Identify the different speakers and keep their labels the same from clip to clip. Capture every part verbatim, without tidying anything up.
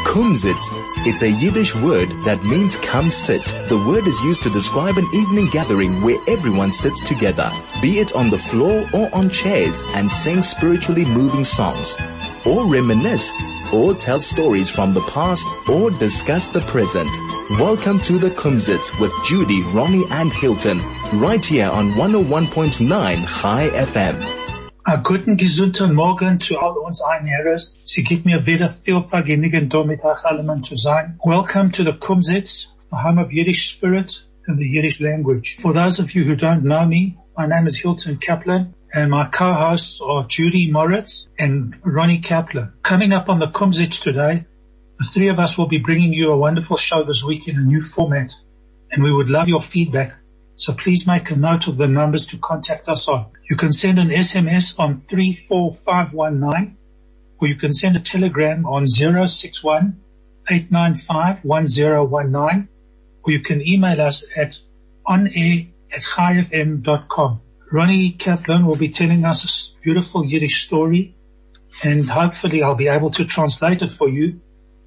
Speaker 1: Kumsitz. It's a Yiddish word that means come sit. The word is used to describe an evening gathering where everyone sits together, be it on the floor or on chairs, and sing spiritually moving songs, or reminisce, or tell stories from the past, or discuss the present. Welcome to the Kumsitz with Judy, Ronnie and Hilton, right here on one oh one point nine Chai F M.
Speaker 2: A guten gesunden Morgen zu all uns Einherres. Sie gibt mir wieder viel Vergnügen, da mit euch allen zu sein. Welcome to the Kumsitz, the home of Yiddish spirit and the Yiddish language. For those of you who don't know me, my name is Hilton Kaplan, and my co-hosts are Judy Moritz and Ronnie Kaplan. Coming up on the Kumsitz today, the three of us will be bringing you a wonderful show this week in a new format, and we would love your feedback. So please make a note of the numbers to contact us on. You can send an S M S on three four five one nine, or you can send a telegram on zero six one eight nine five one zero one nine, or you can email us at onair at chai f m dot com. Ronnie Kaplan will be telling us a beautiful Yiddish story, and hopefully I'll be able to translate it for you.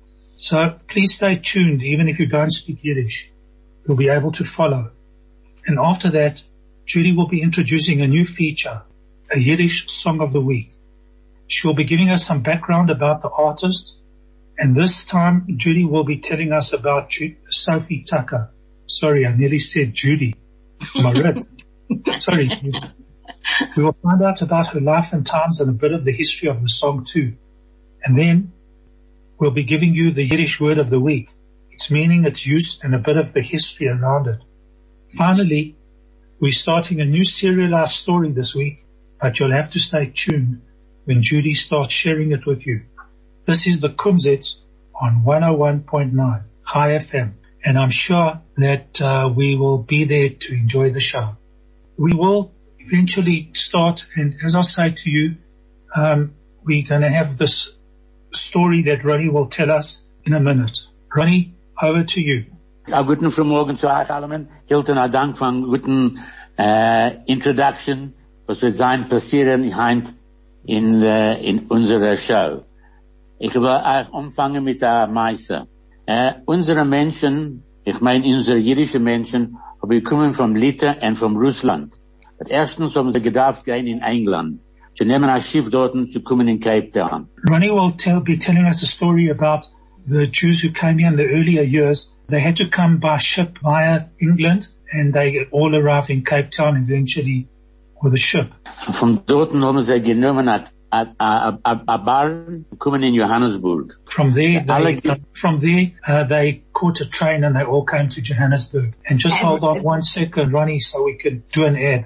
Speaker 2: So please stay tuned, even if you don't speak Yiddish. You'll be able to follow. And after that, Judy will be introducing a new feature, a Yiddish Song of the Week. She will be giving us some background about the artist, and this time Judy will be telling us about Ju- Sophie Tucker. Sorry, I nearly said Judy. Moritz. Sorry. We will find out about her life and times and a bit of the history of the song too. And then we'll be giving you the Yiddish word of the week, its meaning, its use, and a bit of the history around it. Finally, we're starting a new serialized story this week, but you'll have to stay tuned when Judy starts sharing it with you. This is the Kumsitz on one oh one point nine Chai F M, and I'm sure that uh, we will be there to enjoy the show. We will eventually start, and as I say to you, um, we're going to have this story that Ronnie will tell us in a minute. Ronnie, over to you.
Speaker 3: A guten Frühmorgen zu euch allen. Hilton, a Dank für einen guten äh, Introduction, was wird sein passieren heint in, äh, in unserer Show. Ich will euch anfangen mit der Meise. Äh, unsere Menschen, ich meine unsere jüdische Menschen, haben kommen vom Litauen und vom Russland. Aber erstens haben sie gedacht gehen in England. Sie nehmen ein Schiff dort zu kommen in Cape Town.
Speaker 2: Ronnie will tell, be telling us a story about the Jews who came here in the earlier years. They had to come by ship via England, and they all arrived in Cape Town eventually with a ship.
Speaker 3: Von dort haben sie genommen a, a, a, a bar, kommen in Johannesburg.
Speaker 2: From there, they, from there, uh, they caught a train and they all came to Johannesburg. And just hold on one second, Ronnie, so we can do an ad.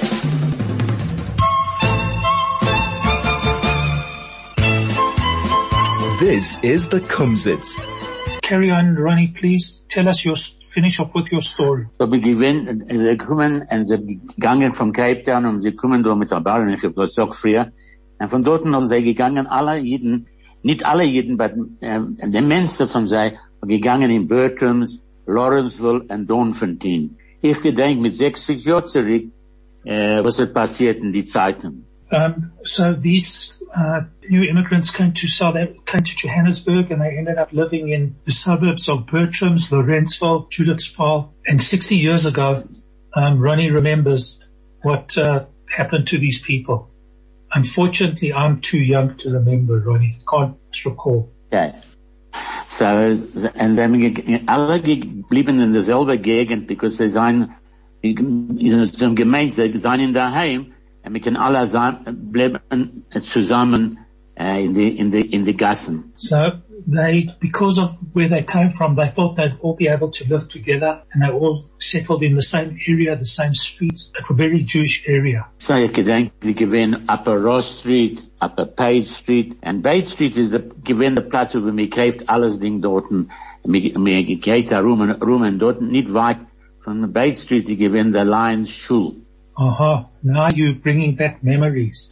Speaker 1: This is the Kumsitz.
Speaker 2: Carry on, Ronnie, please. Tell us your, finish off with your story.
Speaker 3: So we gewinnen, sie kommen, und sie gegangen von Cape Town, und sie kommen da mit der Bar, und ich habe das auch früher. Und von dort haben sie gegangen, alle Jeden, nicht alle Jeden, aber äh, die meisten von sie, gegangen in Bertrams, Lawrenceville und Donfontein. Ich gedenke mit sechzig Jahren zurück, äh, was ist passiert in die Zeiten.
Speaker 2: Um, so these uh, new immigrants came to South, came to Johannesburg, and they ended up living in the suburbs of Bertrams, Lawrenceville, Judithsville. And sixty years ago, um, Ronnie remembers what uh, happened to these people. Unfortunately, I'm too young to remember, Ronnie. Can't recall.
Speaker 3: Okay. So, and then alle geblieben in derselbe Gegend, because they sind, in so gemeint, sie sind in daheim. And we can all bleiben zusammen uh, in the in the in the Gassen.
Speaker 2: So they, because of where they came from, they thought they'd all be able to live together, and they all settled in the same area, the same streets, a very Jewish area.
Speaker 3: So ich gedenke, die gewinnen Upper Ross Street, Upper Page Street, and Page Street is the gewinnen der Platz, wo mir kauft alles Ding dort, mir mir geht da rum und rum und dort nicht weit von der Page Street, die gewinnen der Lions Schule.
Speaker 2: Aha, now you're bringing back memories.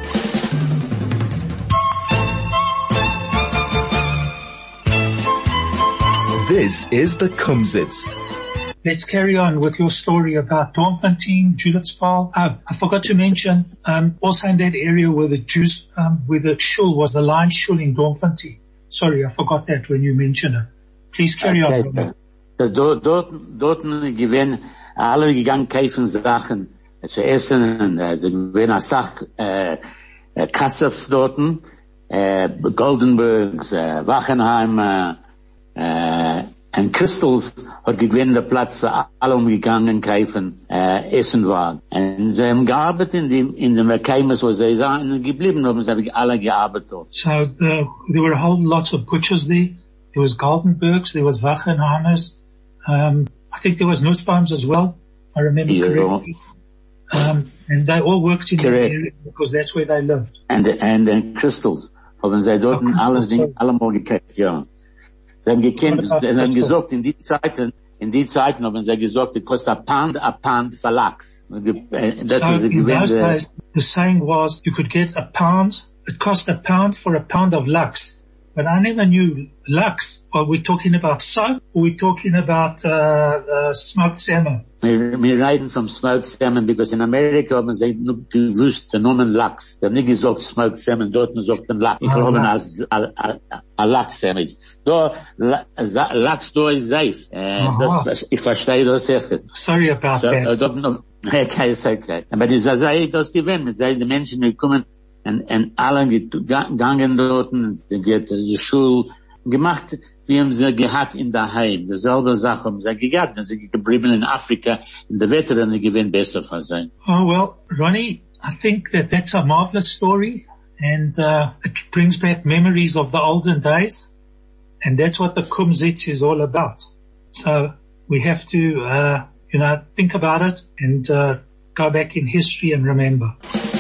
Speaker 1: This is the Kumsitz.
Speaker 2: Let's carry on with your story about Donfontein, Judithsville. Oh, I forgot to mention, um, also in that area where the Jews, um, where the shul was, the Lion Shul in Donfontein. Sorry, I forgot that when you mentioned it. Please carry okay. on.
Speaker 3: So, dort, dort, dort gewinn, alle gegangen kaufen Sachen zu essen, und äh, sie gewinnen eine Sache, äh, äh, Kassefs dorten, äh, Goldenbergs, äh, Wachenheim, äh, äh, und Crystals hat gewinnen der Platz für alle umgegangen kaufen, äh, Essenwagen. Und sie haben gearbeitet in dem, in dem Erkeimnis, wo sie sind geblieben haben, sie haben alle gearbeitet.
Speaker 2: So, the, there were a whole lot of butchers there. There was Goldenbergs, there was Wachenheimers, um, I think there was Nussbaums as well, I remember yeah. correctly. Um, and they all worked in
Speaker 3: Correct.
Speaker 2: the area because that's where they lived.
Speaker 3: And, and, and Crystals, haben sie dort oh, alle Dinge, allemal gekauft, ja. Sie haben gekannt, sie haben gesagt, in die Zeiten, in die Zeiten haben sie gesagt, it cost a pound, a pound for Lachs.
Speaker 2: So in those days, the saying was, you could get a pound, it cost a pound for a pound of Lachs. But I never knew Lachs. Are we talking about soap? Or are we talking about, uh, uh, smoked salmon?
Speaker 3: Wir, wir reden vom smoked salmon, because in Amerika haben sie nur gewusst, den Namen Lachs. Sie haben nicht gesagt smoked salmon, dort man sagt den Lachs. Ich glaube, als, als, als Lachs-Sandwich. Da, Lachs, da ist safe. Äh, das, ich verstehe das sicher.
Speaker 2: Sorry about so, that.
Speaker 3: Uh, okay, it's okay. Aber die sei das gewinnt, mit sei die Menschen, die kommen, und, und alle gegangen dort, und sie geht die Schule gemacht, wie haben sie gehabt in der Heim. Dasselbe Sache haben sie gehabt, und sie geblieben in Afrika, in der Wetter, und die gewinnen besser für sein.
Speaker 2: Oh, well, Ronnie, I think that that's a marvelous story, and, uh, it brings back memories of the olden days, and that's what the Kumzits is all about. So, we have to, uh, you know, think about it, and, uh, go back in history and remember.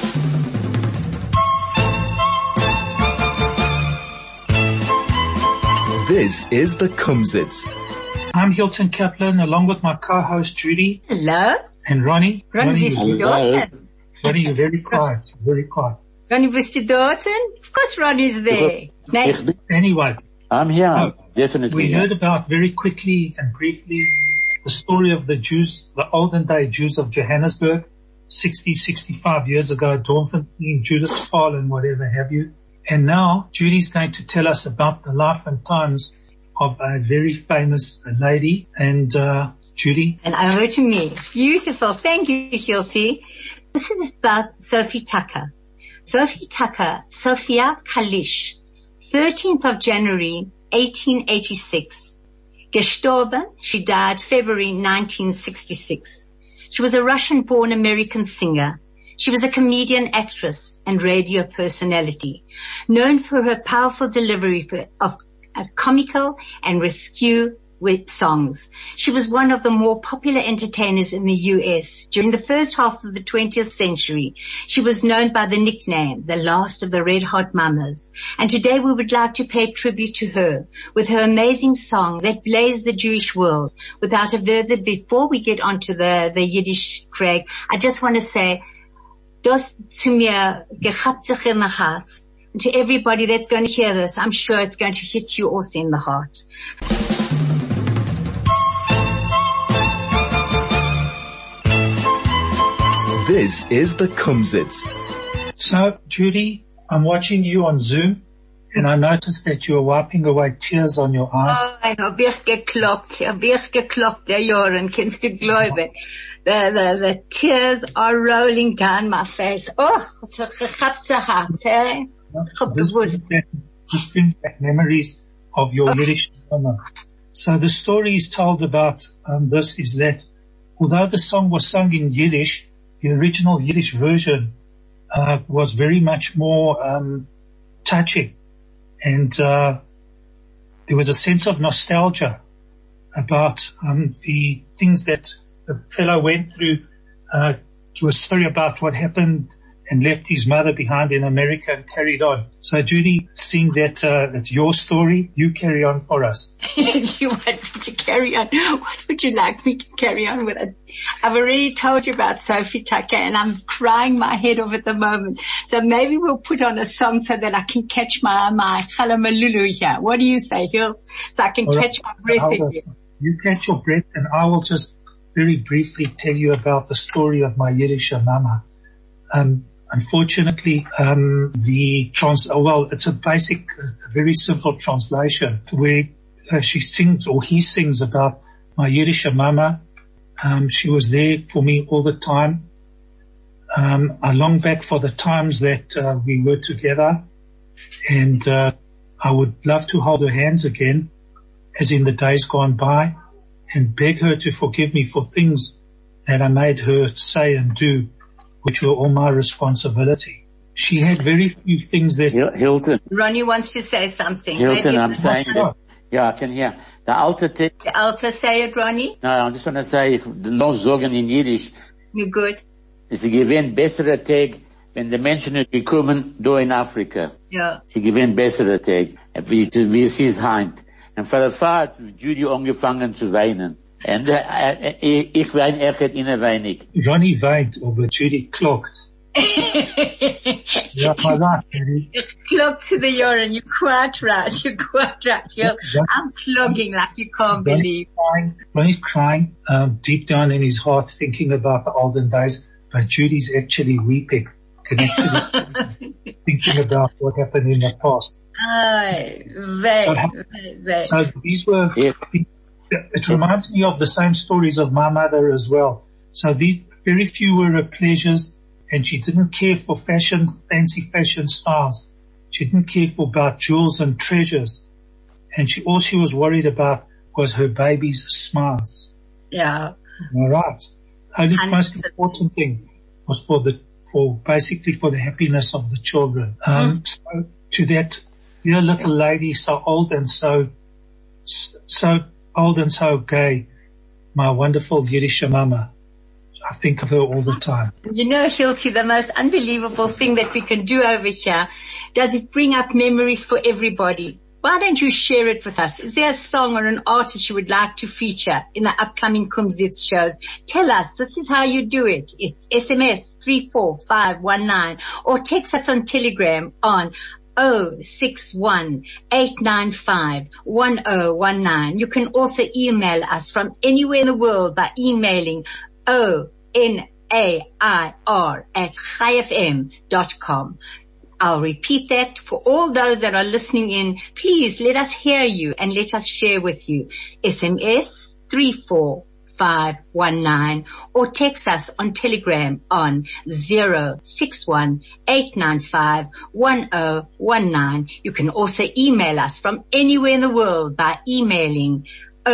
Speaker 1: This is the Kumzits.
Speaker 2: I'm Hilton Kaplan, along with my co-host Judy.
Speaker 4: Hello.
Speaker 2: And Ronnie.
Speaker 4: Ronnie, Ronnie,
Speaker 2: you're, Ronnie, you're very quiet. You're very quiet.
Speaker 4: Ronnie, bist du dort? Of course Ronnie's there.
Speaker 2: Nee. Anyway.
Speaker 3: I'm here, uh, definitely.
Speaker 2: We
Speaker 3: yeah.
Speaker 2: heard about very quickly and briefly the story of the Jews, the olden day Jews of Johannesburg, sixty, sixty-five years ago, Dormfontein, Judith's Fall and whatever have you. And now Judy's going to tell us about the life and times of a very famous lady. And, uh, Judy.
Speaker 4: And over to me. Beautiful. Thank you, Hilti. This is about Sophie Tucker. Sophie Tucker, Sophia Kalish, thirteenth of January, eighteen eighty-six. Gestorben, she died February nineteen sixty-six. She was a Russian-born American singer. She was a comedian, actress, and radio personality, known for her powerful delivery of comical and rescue with songs. She was one of the more popular entertainers in the U S. During the first half of the twentieth century, she was known by the nickname, the last of the Red Hot Mamas. And today we would like to pay tribute to her with her amazing song that blazed the Jewish world. Without a further, before we get onto the, the Yiddish, Craig, I just want to say, das zu mir gehabt sich in the heart. And to everybody that's going to hear this, I'm sure it's going to hit you also in the heart.
Speaker 1: This is the Kumzits.
Speaker 2: So, Judy, I'm watching you on Zoom, and I noticed that you are wiping away tears on your eyes.
Speaker 4: Oh, hab ich gekloppt, hab ich gekloppt, der Joren, kannst du glauben. The, the, the tears are rolling down my face. Oh, it's a gechappte Herz, eh?
Speaker 2: This brings back memories of your Yiddish mama. So the story is told about um, this is that although the song was sung in Yiddish, the original Yiddish version uh, was very much more um, touching, and uh, there was a sense of nostalgia about um, the things that the fellow went through. Uh, he was sorry about what happened and left his mother behind in America and carried on. So Judy, seeing that uh, that's your story, you carry on for us.
Speaker 4: You want me to carry on? What would you like me to carry on with? It? I've already told you about Sophie Tucker, and I'm crying my head off at the moment. So maybe we'll put on a song so that I can catch my my chalamalulu here. What do you say, Hill? So I can All catch right. my breath
Speaker 2: will,
Speaker 4: again.
Speaker 2: You catch your breath, and I will just very briefly tell you about the story of my Yiddish mama. Um, unfortunately, um, the trans, oh, well, it's a basic, a very simple translation where uh, she sings, or he sings about my Yiddish mama. Um, she was there for me all the time. Um, I long back for the times that uh, we were together, and uh, I would love to hold her hands again, as in the days gone by, and beg her to forgive me for things that I made her say and do, which were all my responsibility. She had very few things that...
Speaker 3: Hilton.
Speaker 4: Ronnie wants to say something.
Speaker 3: Hilton,
Speaker 4: Maybe
Speaker 3: I'm saying that, yeah, I can hear. The Alter...
Speaker 4: The Alter say it, Ronnie?
Speaker 3: No, I just want to say, noch sagen in Yiddish.
Speaker 4: You're good.
Speaker 3: Sie gewinnt bessere Tag, wenn die Menschen gekommen, da in Afrika.
Speaker 4: Ja.
Speaker 3: Sie gewinnt bessere Tag, wie, wie es ist heint. Und für die Fahrt, Judy angefangen zu weinen. Und äh, äh, ich weine echt in ein wenig.
Speaker 2: Ronnie weint, aber Judy klagt. Ja, my life, Judy.
Speaker 4: Clog to the urine. You're quite right. You're quite right. You're, I'm clogging like you can't believe.
Speaker 2: Crying, Ronnie's crying, um, deep down in his heart, thinking about the olden days. But Judy's actually weeping, connected, thinking about what happened in the past.
Speaker 4: Aye, very, very, very.
Speaker 2: So these were,
Speaker 3: Yeah.
Speaker 2: it reminds me of the same stories of my mother as well. So the, very few were her pleasures, and she didn't care for fashion, fancy fashion styles. She didn't care for about jewels and treasures. And she, all she was worried about was her baby's smiles.
Speaker 4: Yeah.
Speaker 2: All right. Only
Speaker 4: And
Speaker 2: most important thing was for the, for basically for the happiness of the children. Um,
Speaker 4: Mm.
Speaker 2: so to that, dear little lady, so old and so, so old and so gay, my wonderful Yiddish mama. I think of her all the time.
Speaker 4: You know, Hilti, the most unbelievable thing that we can do over here, does it bring up memories for everybody? Why don't you share it with us? Is there a song or an artist you would like to feature in the upcoming Kumzits shows? Tell us, this is how you do it. It's S M S three four five one nine, or text us on Telegram on oh six one, eight nine five, one oh one nine. You can also email us from anywhere in the world by emailing O N A I R at chai f m dot com. I'll repeat that for all those that are listening in. Please let us hear you and let us share with you. S M S three four five one nine, or text us on Telegram on zero six one, eight nine five, one oh one nine. You can also email us from anywhere in the world by emailing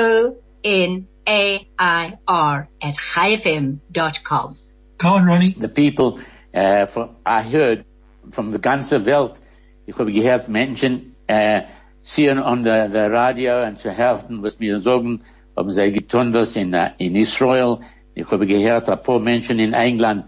Speaker 4: O N A I R at chai f m dot com.
Speaker 2: Go on, Ronnie.
Speaker 3: The people, uh, for, I heard from the ganze Welt, ich habe gehört Menschen, äh, sehen an der, der Radio und zu helfen, was mir sagen, haben sie getan das in, uh, in Israel. Ich habe gehört, ein paar Menschen in England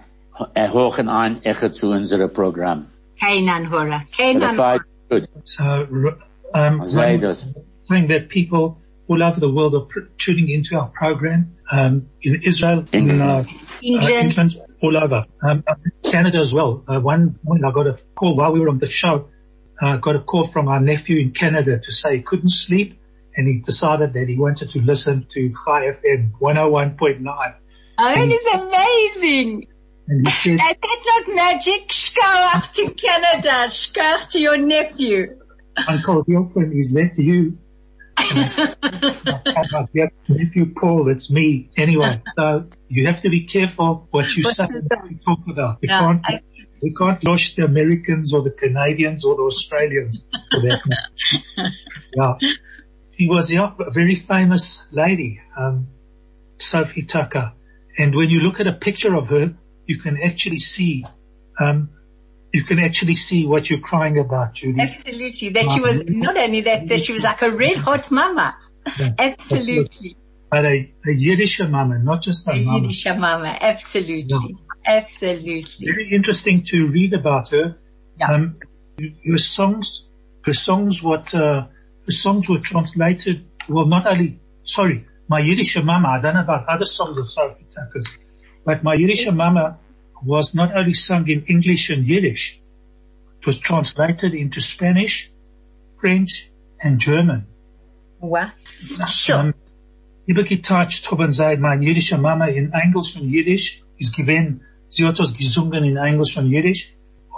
Speaker 3: hören ein, echt zu unserem Programm.
Speaker 4: Keinan Hora. Keinan Hora.
Speaker 3: Good.
Speaker 2: So, um,
Speaker 3: Say this.
Speaker 2: saying that people all over the world are pr- tuning into our program, um, in Israel, in, uh,
Speaker 4: England.
Speaker 2: Uh, England, all over. Um, Canada as well. Uh, one morning I got a call while we were on the show. I uh, got a call from our nephew in Canada to say he couldn't sleep, and he decided that he wanted to listen to Chai F M one oh one point nine.
Speaker 4: Oh, it is amazing.
Speaker 2: And he said,
Speaker 4: That's not magic. Shkoach to Canada. Shkoach to your nephew.
Speaker 2: Uncle Hilton, is that you? And I said, "Oh, yeah, nephew Paul, it's me. Anyway, so you have to be careful what you say, what you talk about. We
Speaker 4: Yeah,
Speaker 2: can't,
Speaker 4: I-
Speaker 2: we can't launch the Americans or the Canadians or the Australians for that matter. Yeah. She was, yeah, a very famous lady, um, Sophie Tucker. And when you look at a picture of her, you can actually see, um, you can actually see what you're crying about, Judy.
Speaker 4: Absolutely. That she was, not only that, that she was like a red hot mama.
Speaker 2: Yeah.
Speaker 4: Absolutely.
Speaker 2: But a, a Yiddish mama, not just a
Speaker 4: A
Speaker 2: mama.
Speaker 4: Yiddish mama. Absolutely. Absolutely.
Speaker 2: Very interesting to read about her.
Speaker 4: Yeah.
Speaker 2: Um, her songs, her songs, what, uh, her songs were translated, well, not only, sorry, my Yiddish mama, I don't know about other songs of Sophie Tucker's, but my Yiddish mama was not only sung in English and Yiddish, it was translated into Spanish, French, and German.
Speaker 4: Wow. Sure.
Speaker 2: Um, ich habe getoucht, haben sie, meine jüdische Mama in Englisch und Jiddisch ist gewesen, sie hat das gesungen in Englisch und Jiddisch,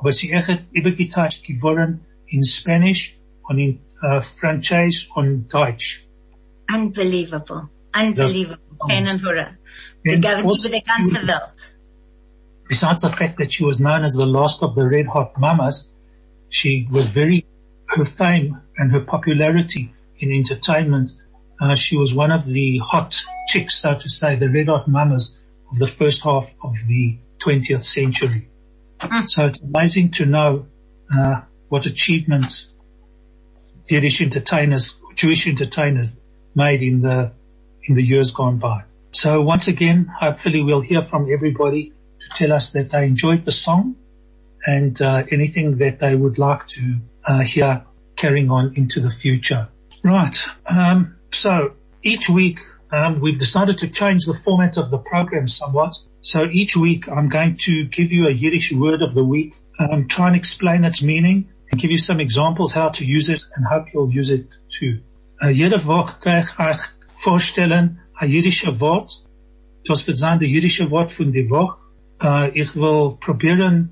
Speaker 2: aber sie echt übergeteilt geworden in Spanish und in uh, Französisch und Deutsch.
Speaker 4: Unbelievable. Unbelievable. Pain and horror. Wir
Speaker 2: And
Speaker 4: gaben
Speaker 2: also-
Speaker 4: über die ganze Welt.
Speaker 2: Besides the fact that she was known as the last of the Red Hot Mamas, she was very, her fame and her popularity in entertainment, uh, she was one of the hot chicks, so to say, the Red Hot Mamas of the first half of the twentieth century.
Speaker 4: Mm.
Speaker 2: So it's amazing to know, uh, what achievements Yiddish entertainers, Jewish entertainers made in the, in the years gone by. So once again, hopefully we'll hear from everybody to tell us that they enjoyed the song and uh, anything that they would like to uh, hear carrying on into the future. Right. Um, so each week um, we've decided to change the format of the program somewhat. So each week I'm going to give you a Yiddish word of the week, um, try and explain its meaning and give you some examples how to use it and hope you'll use it too. Uh, jede Woche kann ich euch vorstellen ein jiddische Wort. Das wird sein der jiddische Wort von der Woche. Uh, ich will probieren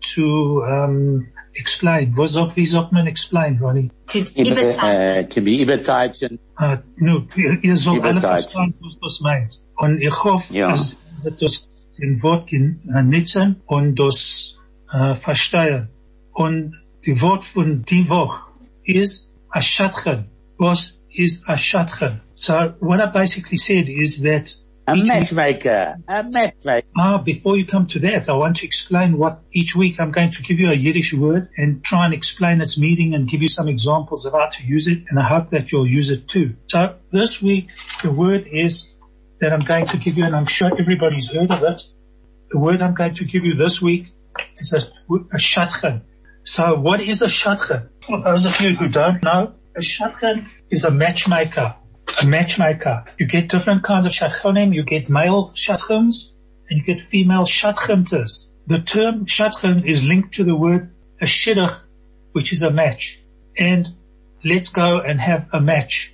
Speaker 2: to um, explain. Was sagt, wie sagt man explain, Ronnie?
Speaker 4: To
Speaker 3: Über,
Speaker 4: überteilen.
Speaker 3: äh, to be überteilen.
Speaker 2: Uh, no, ihr, ihr sollt alle
Speaker 3: Überteilen.
Speaker 2: verstehen, was das meint. Und ich hoffe,
Speaker 3: Ja.
Speaker 2: dass ihr das den Wort uh, nutzen und das uh, verstehen. Und die Wort von die Woche ist Ashatchen. Was ist Ashatchen? So what I basically said is that
Speaker 3: A
Speaker 2: each week-
Speaker 3: matchmaker. A matchmaker.
Speaker 2: Ah, before you come to that, I want to explain what each week I'm going to give you a Yiddish word and try and explain its meaning and give you some examples of how to use it, and I hope that you'll use it too. So this week, the word is that I'm going to give you, and I'm sure everybody's heard of it. The word I'm going to give you this week is a, a shatchen. So what is a shatchen? For those of you who don't know, a shatchen is a matchmaker. A matchmaker. You get different kinds of shadchanim. You get male shadchans and you get female shadchanters. The term shadchan is linked to the word a shidduch, which is a match. And let's go and have a match.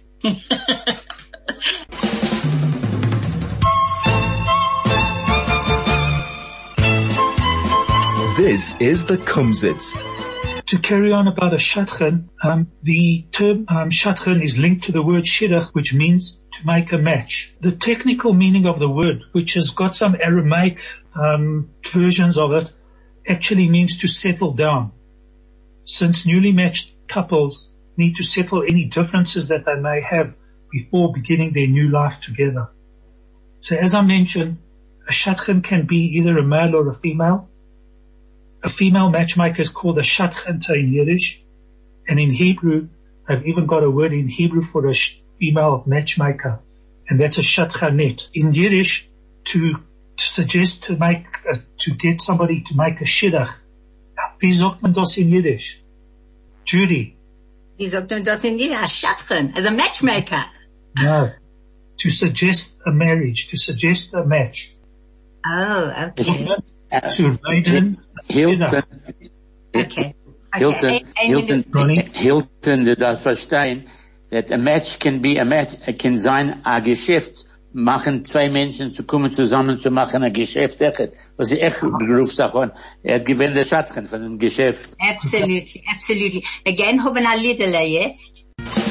Speaker 1: This is the Kumsitz.
Speaker 2: To carry on about a shadchan, um, the term um, shadchan is linked to the word shidduch, which means to make a match. The technical meaning of the word, which has got some Aramaic um, versions of it, actually means to settle down. Since newly matched couples need to settle any differences that they may have before beginning their new life together. So as I mentioned, a shadchan can be either a male or a female. A female matchmaker is called a shadchanta in Yiddish, and in Hebrew, they've even got a word in Hebrew for a sh- female matchmaker, and that's a shadchanet. In Yiddish, to, to suggest to make, uh, to get somebody to make a shidduch, wie sagt man das in Yiddish? Judy?
Speaker 4: Wie sagt man das in Yiddish? A Shatchen, as a matchmaker.
Speaker 2: No. To suggest a marriage, to suggest a match.
Speaker 4: Oh, okay.
Speaker 2: To reden,
Speaker 3: Hilton.
Speaker 4: Okay.
Speaker 3: Hilton,
Speaker 4: Okay. Ein- ein
Speaker 3: Hilton,
Speaker 2: Ronnie?
Speaker 3: Hilton, du darfst verstehen, that a match can be a match, it can sein a Geschäft, machen zwei Menschen zu kommen zusammen zu machen ein Geschäft echt. Was ich echt begrüßt davon, er hat gewinnt der Schatten von dem Geschäft.
Speaker 4: Absolutely, absolutely. Again, haben wir Liederle jetzt.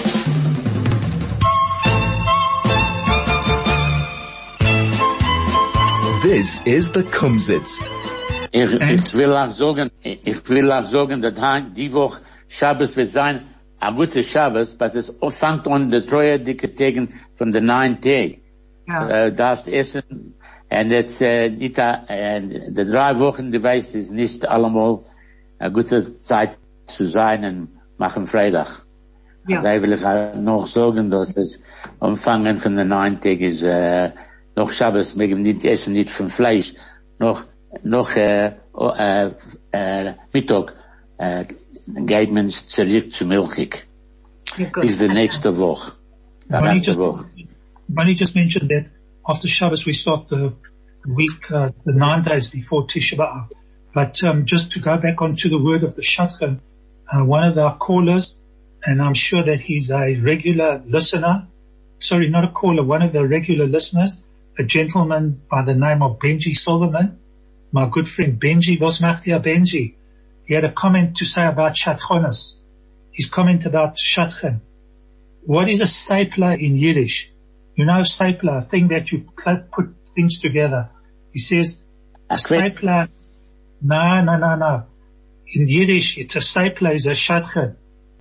Speaker 1: This is the Kumsitz.
Speaker 3: Ich, ich will auch sagen, ich will auch sagen, dass die Woche Shabbos wird sein, ein guter Shabbos, was es fängt an der treue dicke Tagen von den neun Tagen.
Speaker 4: Ja.
Speaker 3: Äh, darfst essen, und jetzt, äh, nicht, äh, die drei Wochen, du weißt, ist nicht allemal eine gute Zeit zu sein und machen Freitag.
Speaker 4: Ja.
Speaker 3: Also, will ich auch noch sagen, dass es Umfangen von den neun Tagen ist, äh, noch Shabbos, wir nicht essen, nicht von Fleisch, noch, noch, äh, äh, äh, Mittag, äh, geht man zurück zu Milchig.
Speaker 4: Ja, gut.
Speaker 3: Bis die nächste Woche. Die
Speaker 2: Bunny
Speaker 3: nächste
Speaker 2: just,
Speaker 3: Woche.
Speaker 2: Bunny just mentioned that after Shabbos we start the week, uh, the nine days before Tisha B'Av. But um, just to go back onto the word of the Shadchan, uh, one of our callers, and I'm sure that he's a regular listener, sorry, not a caller, one of the regular listeners, a gentleman by the name of Benji Silverman, my good friend Benji. Was macht ihr, Benji? he had a comment to say about Shatchonas. His comment about Shatchen. What is a stapler in Yiddish? You know, stapler, a thing that you put things together. He says, a stapler, no, no, no, no. In Yiddish, it's a stapler is a Shatchen.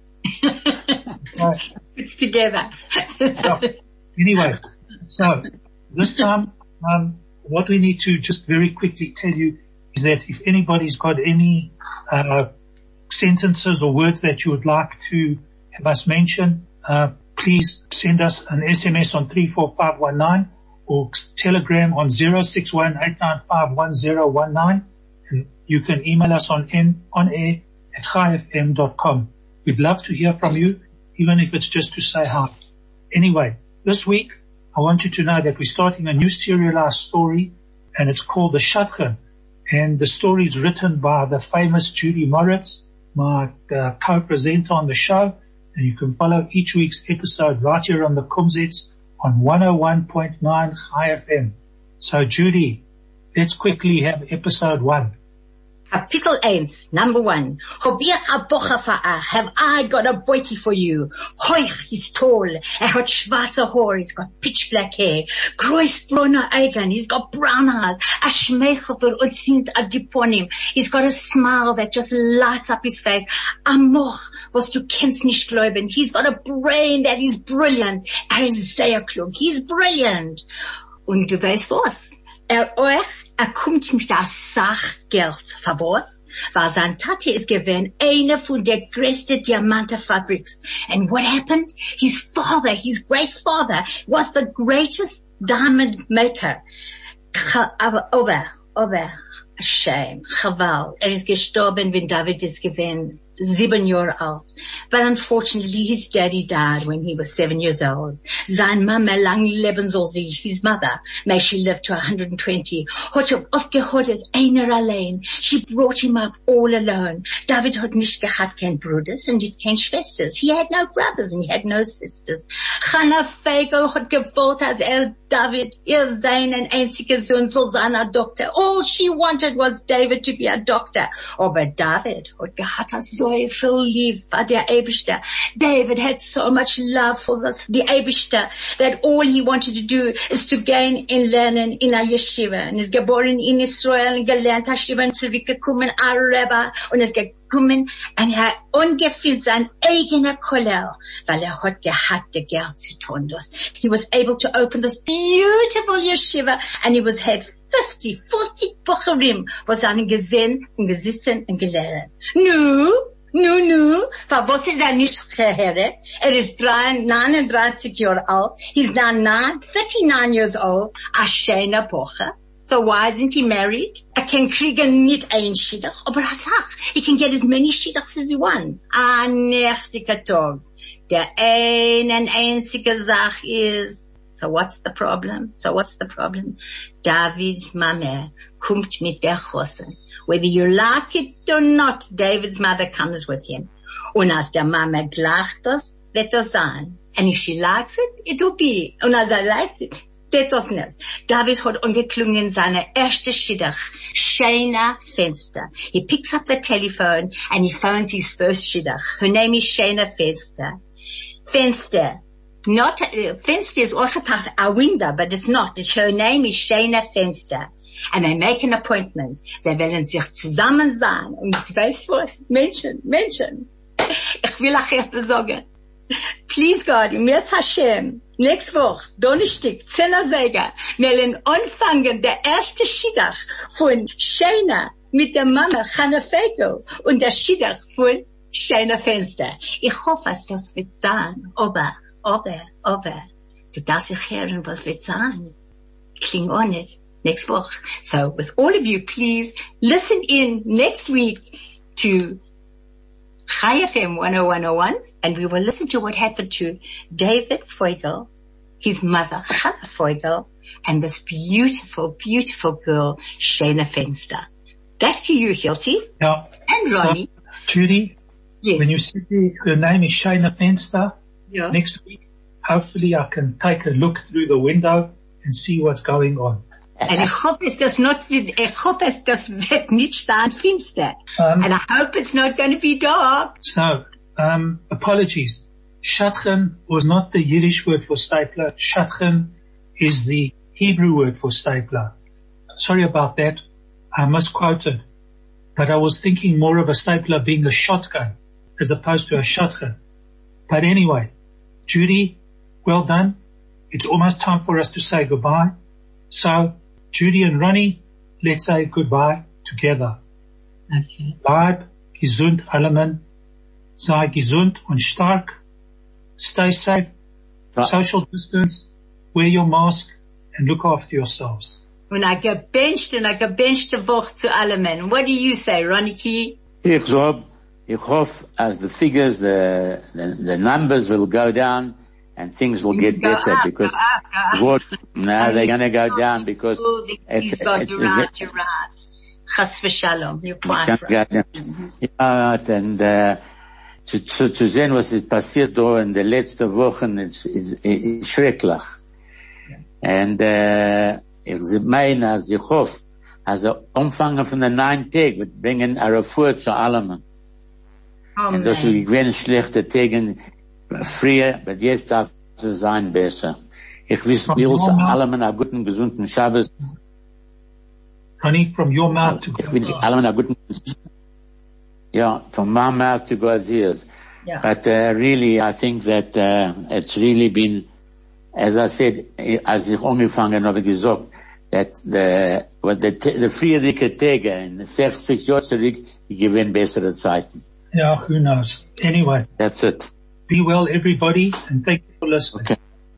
Speaker 4: Right. It's together.
Speaker 2: So, anyway, so this time, um, what we need to just very quickly tell you is that if anybody's got any uh sentences or words that you would like to have us mention, uh please send us an S M S on three four five one nine or Telegram on zero six one eight nine five one zero one nine, and you can email us on n on air at chai f m dot com. We'd love to hear from you, even if it's just to say hi. Anyway, this week I want you to know that we're starting a new serialized story, and it's called The Shatchen. And the story is written by the famous Judy Moritz, my uh, co-presenter on the show. And you can follow each week's episode right here on the Kumzits on one oh one point nine Chai F M. So Judy, let's quickly have episode one.
Speaker 4: Kapitel eins, number one. Hobiach a bocha fa'a, have I got a boyki for you? Hoich, he's tall, er hat schwarze Haar, he's got pitch black hair, groß braune Augen, he's got brown eyes, a schmeichel für und sind a diponim, he's got a smile that just lights up his face, a moch, was du kennst nicht glauben, he's got a brain that is brilliant, er ist sehr klug, he's brilliant. Und du weißt was? Er euch, er kommt mit der Sachgeld verboß, weil sein Tate ist gewesen eine von der größten Diamantenfabriks. And what happened? His father, his great father, was the greatest diamond maker. Aber, aber, aber, shame, chaval. Er ist gestorben, when David is gewesen seven years old. But unfortunately, his daddy died when he was seven years old. Sein Mama, lang leben soll sie, his mother, may she live to one hundred twenty, hat er oft gehodet, einer allein. She brought him up all alone. David hat nicht gehabt kein Bruders und kein Schwesters. He had no brothers and he had no sisters. Chana Fegel hat gewollt, als er David, ihr seinen einziger Sohn soll sein a doctor. All she wanted was David to be a doctor. Aber David hat gehabt so viel lief for der Eibishter. David had so much love for this, the Eibishter, that all he wanted to do is to gain in learning in a yeshiva. Und ist geboren in Israel und gelernt Yeshiva und zurückgekommen a Rebbe und ist gekommen und er hat ungefüllt sein eigener Koller, weil er hat gehabt, der Geld zu tun. He was able to open this beautiful yeshiva and he was had fifty, forty Bucherim, was einen gesehen und gesitzen und gelehrt. Nu, nu, nu, für was ist er nicht gehört? Er ist neununddreißig Jahre alt. He's now nine, thirty-nine years old. A schöner Bucher. So why isn't he married? Er kann kriegen nicht ein Schiddach, aber er sagt, he can get as many Schiddachs as he wants. Ein nächtiger Tag. Der eine einzige Sache ist, so what's the problem? So what's the problem? David's Mama kommt mit der Chosen. Whether you like it or not, David's mother comes with him. Und als der Mama gleicht das, wird das sein. And if she likes it, it will be. Und als er likes it, wird das nicht. David hat angeklungen seine erste Schiddach, Shana Fenster. He picks up the telephone and he phones his first Schiddach. Her name is Shana Fenster. Fenster. Not, uh, Fenster is also a window, but it's not. It's, her name is Shana Fenster. And they make an appointment. Sie werden sich zusammen sein. Und weißt du was? Menschen, Menschen. Ich will euch etwas sagen. Please God, mir Hashem, nächste Woche, Donnerstag, zehner Säger, wir werden anfangen, der erste Schiddach von Shana mit der Mama, Chana Fegel, und der Schiddach von Shana Fenster. Ich hoffe, dass das wird sein. Aber, aber, aber, du darfst dich hören, was wird sein. Kling on it. Next week. So with all of you, please listen in next week to Chai F M one oh one oh one, and we will listen to what happened to David Feugel, his mother, Chana Feugel, and this beautiful, beautiful girl, Shana Fenster. Back to you, Hilti.
Speaker 2: Yeah.
Speaker 4: And Ronnie.
Speaker 2: So, Judy,
Speaker 4: yes.
Speaker 2: When you said her name is Shana Fenster,
Speaker 4: yeah.
Speaker 2: Next week, hopefully I can take a look through the window and see what's going on.
Speaker 4: And I hope it's just not, I hope it's just nicht staan finster.
Speaker 2: Um,
Speaker 4: and I hope it's not going to be dark.
Speaker 2: So, um, apologies. Shadchan was not the Yiddish word for stapler. Shadchan is the Hebrew word for stapler. Sorry about that. I misquoted. But I was thinking more of a stapler being a shotgun as opposed to a shadchan. But anyway, Judy, well done. It's almost time for us to say goodbye. So, Judy and Ronnie, let's say goodbye together.
Speaker 4: Okay.
Speaker 2: Bleib gesund, allemen. Sei gesund und stark. Stay safe.
Speaker 3: Right.
Speaker 2: Social distance. Wear your mask and look after yourselves.
Speaker 4: Und I gebenched and I gebenched a Woche zu allemen. What do you say, Ronnie?
Speaker 3: Ich hope, ich hoffe, as the figures, the, the, the numbers will go down and things will get
Speaker 4: Go
Speaker 3: better
Speaker 4: up,
Speaker 3: because
Speaker 4: go up, go up.
Speaker 3: what, now they're gonna go down because
Speaker 4: Oh, the-
Speaker 3: it's,
Speaker 4: He's got
Speaker 3: it's,
Speaker 4: you right, you're right. Chas v'shalom, you're quite right.
Speaker 3: Ja, und, äh, zu, zu, zu sehen, was ist passiert da in den letzten Wochen, ist, ist, ist schrecklich. Und, äh, ich meine, als ich hoffe, als der Umfang von den neun Tagen wird bringen eine Refuhr zu allem. Und das ist gewesen schlechte Tage früher, aber jetzt darf es sein besser. Ich will allem einen guten, gesunden Schabbos.
Speaker 2: Ronnie, from your mouth to
Speaker 3: Ich will allem einen guten, yeah, from my mouth to God's ears.
Speaker 4: Yeah.
Speaker 3: But, uh, really, I think that, uh, it's really been, as I said, als ich angefangen habe gesagt, that the, what the, the friedliche Tage in sechzig Jahren zurück, die gewinnen bessere Zeiten.
Speaker 2: Yeah, who knows? Anyway,
Speaker 3: That's it.
Speaker 2: be well everybody and thank you for listening.
Speaker 3: Okay.